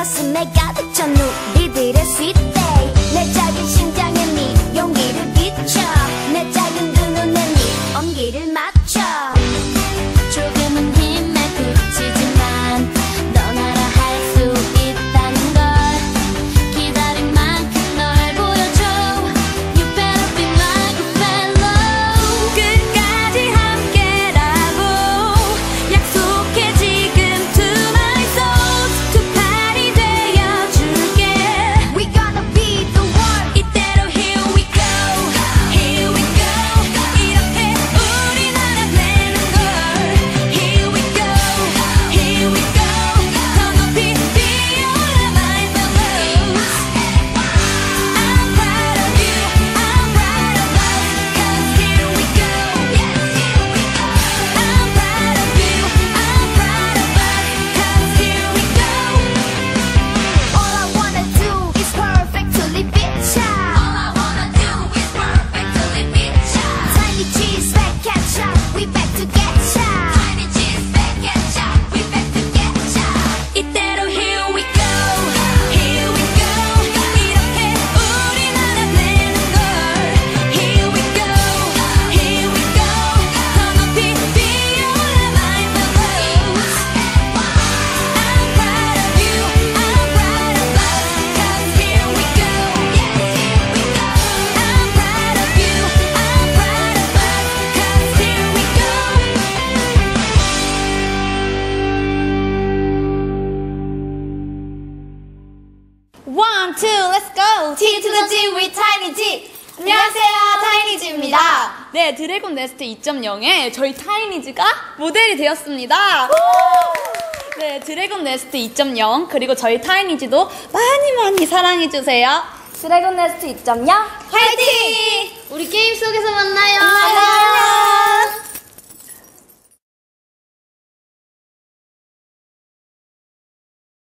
가슴에 가득 찬 우리들의 sweet day 내 작은 심장에 네 용기를 비춰 내 작은 두 눈에 네 온기를 맞춰 조금은 힘에 그치지만 넌 알아 할 수 있다는 걸 기다린 만큼 널 보여줘 You better be my good fellow 끝까지 함께라고 약속해 지금 to my soul 두 팔이 되어줄게 We gonna be the one 이대로 here we go Here we go 이렇게 우린 알아내는 걸 Here we go Here we go 더 높이 뛰어올라 my fellows I'm proud of you I'm proud of us Cause here we go Yes, here we go I'm proud of you I'm proud of us Cause here we go All I wanna do is perfectly picture All I wanna do is perfectly picture Tiny cheese, fat ketchup, we back to get ya Tiny cheese, fat ketchup, we back to get ya 이대로 here we go Here we go 이렇게 우린 알아내는 걸 Here we go Here we go 더 높이 뛰어올라 my fellows I'm proud of you I'm proud of us Cause here we go Yes, here we go I'm proud of you I'm proud of us Cause here we go One, two, let's go! T to the G with Tiny G! 안녕하세요, 타이니지입니다. 네, 드래곤 네스트 2.0에 저희 타이니즈가 모델이 되었습니다. 네, 드래곤 네스트 2.0 그리고 저희 타이니즈도 많이 많이 사랑해주세요. 드래곤 네스트 2.0 화이팅! 우리 게임 속에서 만나요. 안녕!